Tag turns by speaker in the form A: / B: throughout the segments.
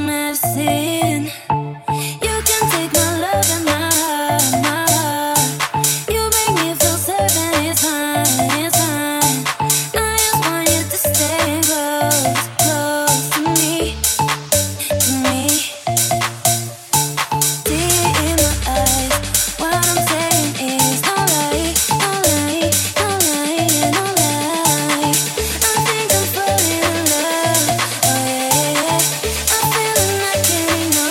A: Getting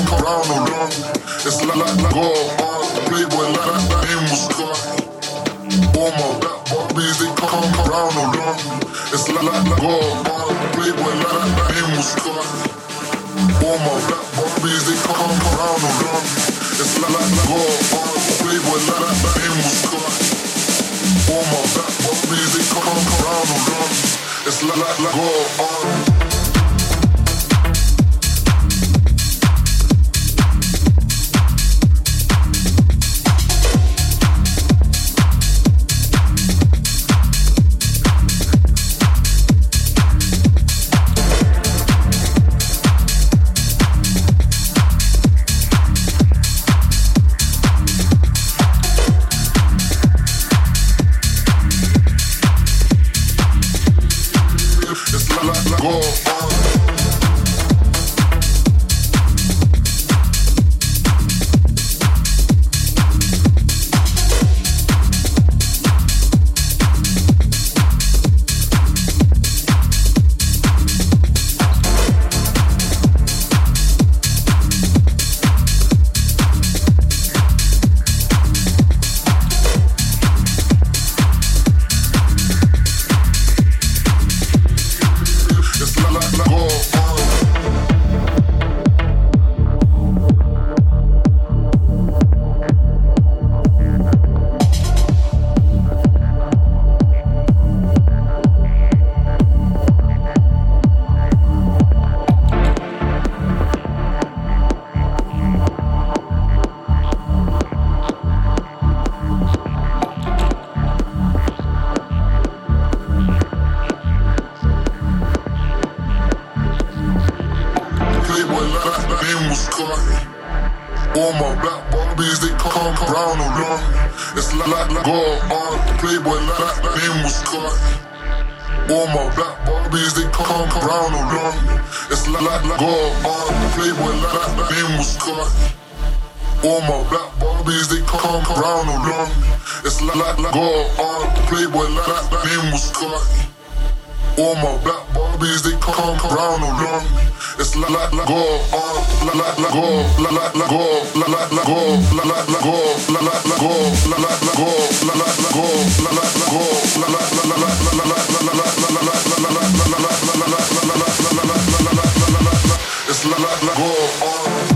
A: around and round. It's like God, Playboy like name was God. All my black Barbies, they come around and round. It's like God, Playboy like name was God. All my black Barbies, they come around and round. It's like God, Playboy like name was God. All my black Barbies, they come around and round. It's like God. All my black Barbies, they come around and round. It's like God, Playboy like name was God. All my black Barbies, they come around and round. It's like God, Playboy like name was God. All my black Barbies, they come around and round. It's like God, Playboy like name was God. All my black Barbies, they come around and round. It's like God, like God, like God, like God, like God, like God, like God, like God, like God, it's like God.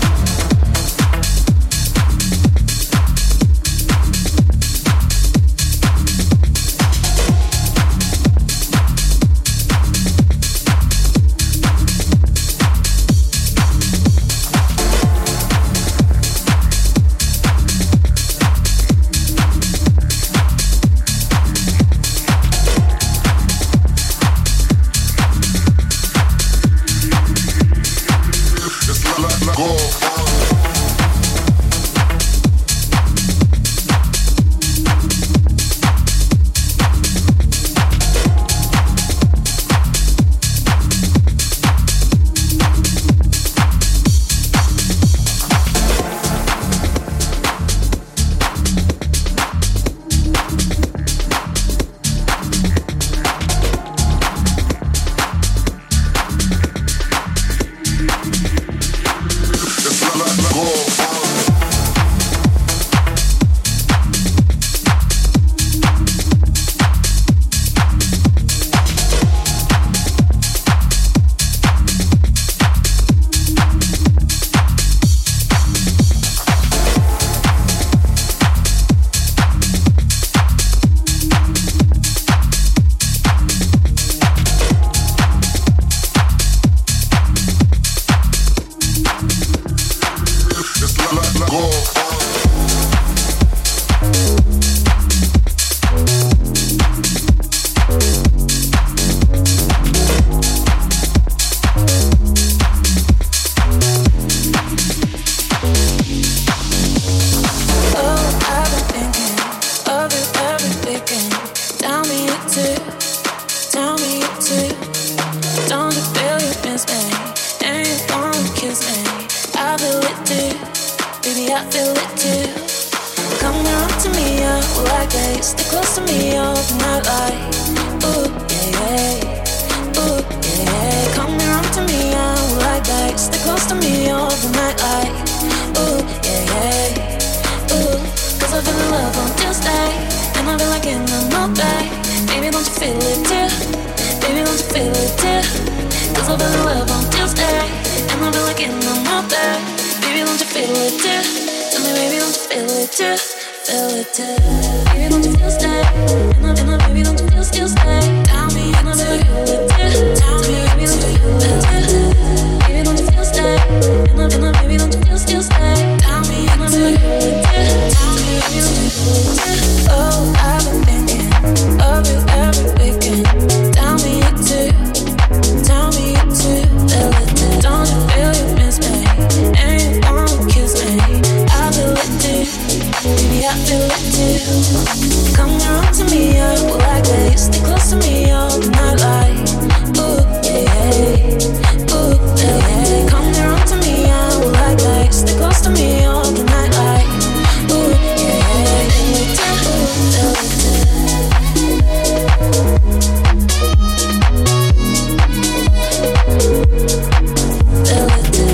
B: I feel it too. Come on to me, like that. Stick close to me all night, like ooh yeah, ooh yeah. Come on to me, like that. Stick close to me all night, like. 'cause I've been in love on Tuesday, and I've been looking on my back. Baby, don't you feel it too? Tell me, baby, don't you feel it too? Feel it too. Baby, don't you feel stay? And I, baby, don't you feel still stay? Tell me, and I feel it too. Tell me, baby, don't you feel it too? Baby, don't you feel stay? And I, baby, don't you feel still stay? Tell me, and I feel it too. Tell me, baby, don't you feel it too? Oh, I've been thinking of you every weekend. Tell me you too. Tell me you too. Feel it too. Don't you feel you miss me? And you wanna kiss me? I feel it too. Baby, I feel it too. Come around to me, I will like that. Stay close to me all the night, like ooh yeah, yeah. Ooh yeah, yeah. Come around to me, I will like that. Stay close to me all the night, like ooh yeah, yeah. Feel it too, feel it too. Feel it too.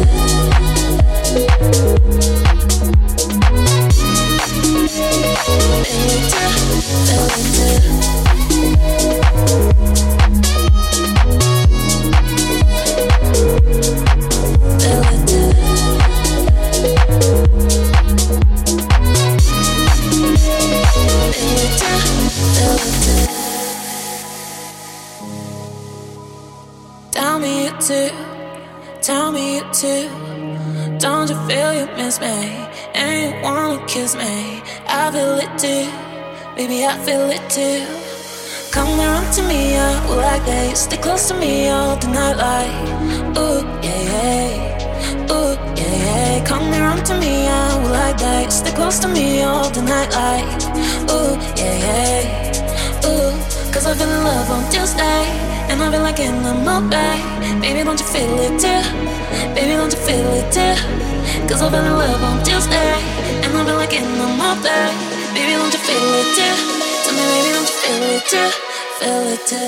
B: Tell me you too, tell me you too. Don't you feel you miss me and you wanna kiss me? I feel it too, baby, I feel it too. Come around to me, I will like that. Stay close to me all the night, like ooh yeah, yeah. Ooh yeah, yeah. Come around to me, I will like that. Stay close to me all the night, like ooh yeah, yeah. Ooh, 'cause I've been in love on Tuesday, and I've been like in the mood, baby, don't you feel it too? Baby, don't you feel it too? 'Cause I've been in love on Tuesday, and I've been like in the mood, baby, don't you feel it too? Tell me, baby, don't you feel it too? Feel it too.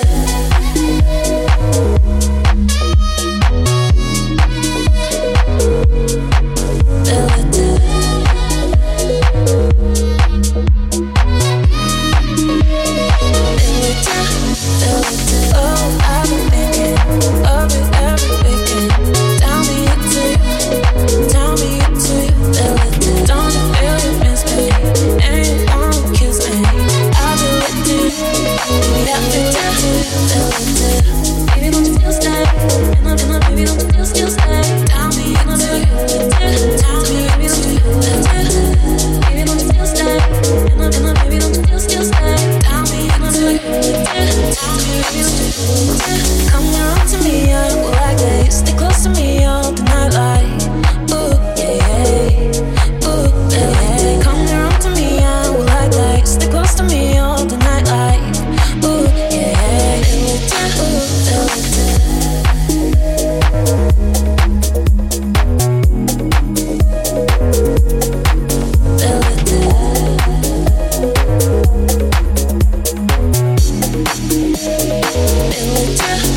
B: Feel it too. Feel it too. Feel it too. Oh, I've been thinking of you every weekend. Tell me you too. Tell me you too. Feel it too. Don't you feel you miss me and you wanna kiss me? I feel it too. Baby, I feel it too. Feel it too. Baby, don't you feel stay? And I, baby, don't you feel still stay? Tell me, and I feel it too. Tell me, baby, don't you feel it too? Baby, don't you feel stay? And I, baby, don't you feel still stay? Tell me, and I feel it too. Tell me, baby, don't you feel it too? Come around to me, I will like that. Stay close to me all the night, like ooh yeah, yeah. Ooh yeah, yeah. Come around to me, I will like that. Stay close to me all the night, like ooh yeah, yeah. Feel it too, feel it too. Feel it too. Feel it too.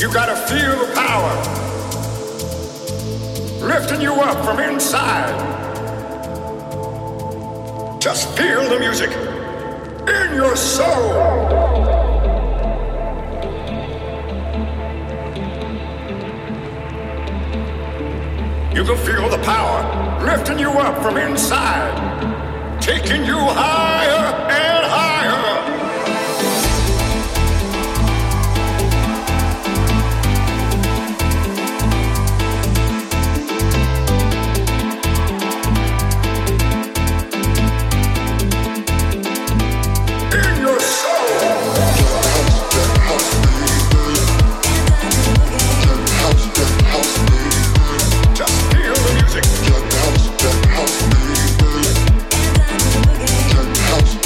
C: You gotta feel the power lifting you up from inside. Just feel the music in your soul. You can feel the power lifting you up from inside, taking you higher and higher.
A: House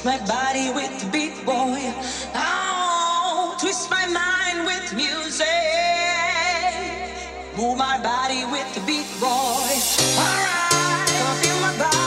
D: my body with the beat, boy. Oh, twist my mind with music. Move my body with the beat, boy. Alright, gonna feel my body.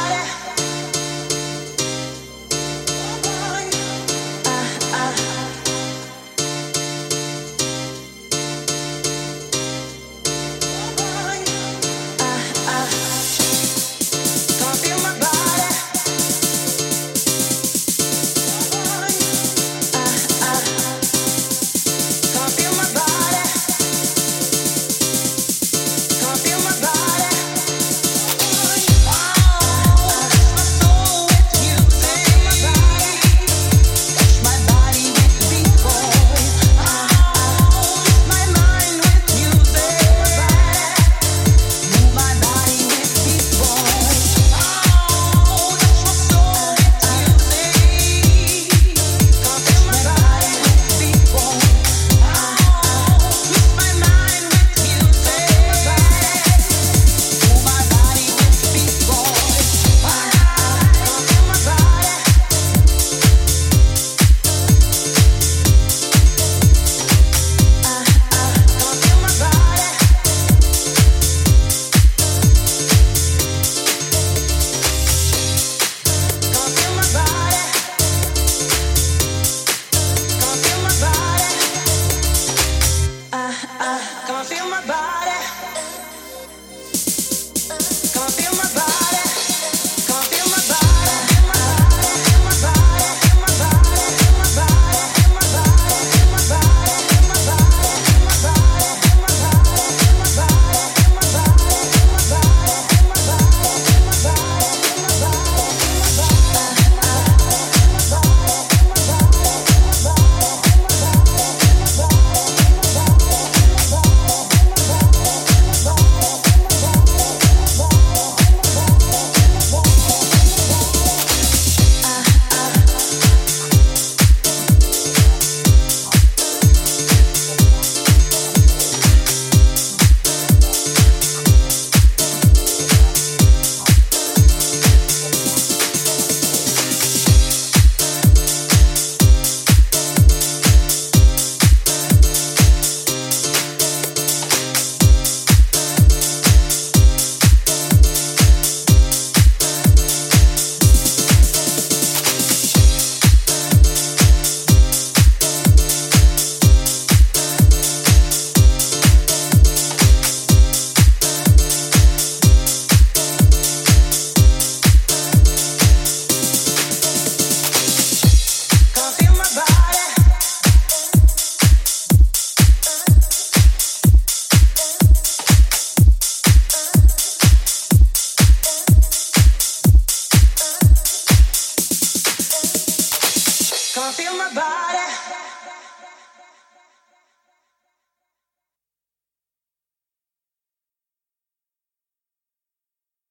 D: Feel my body.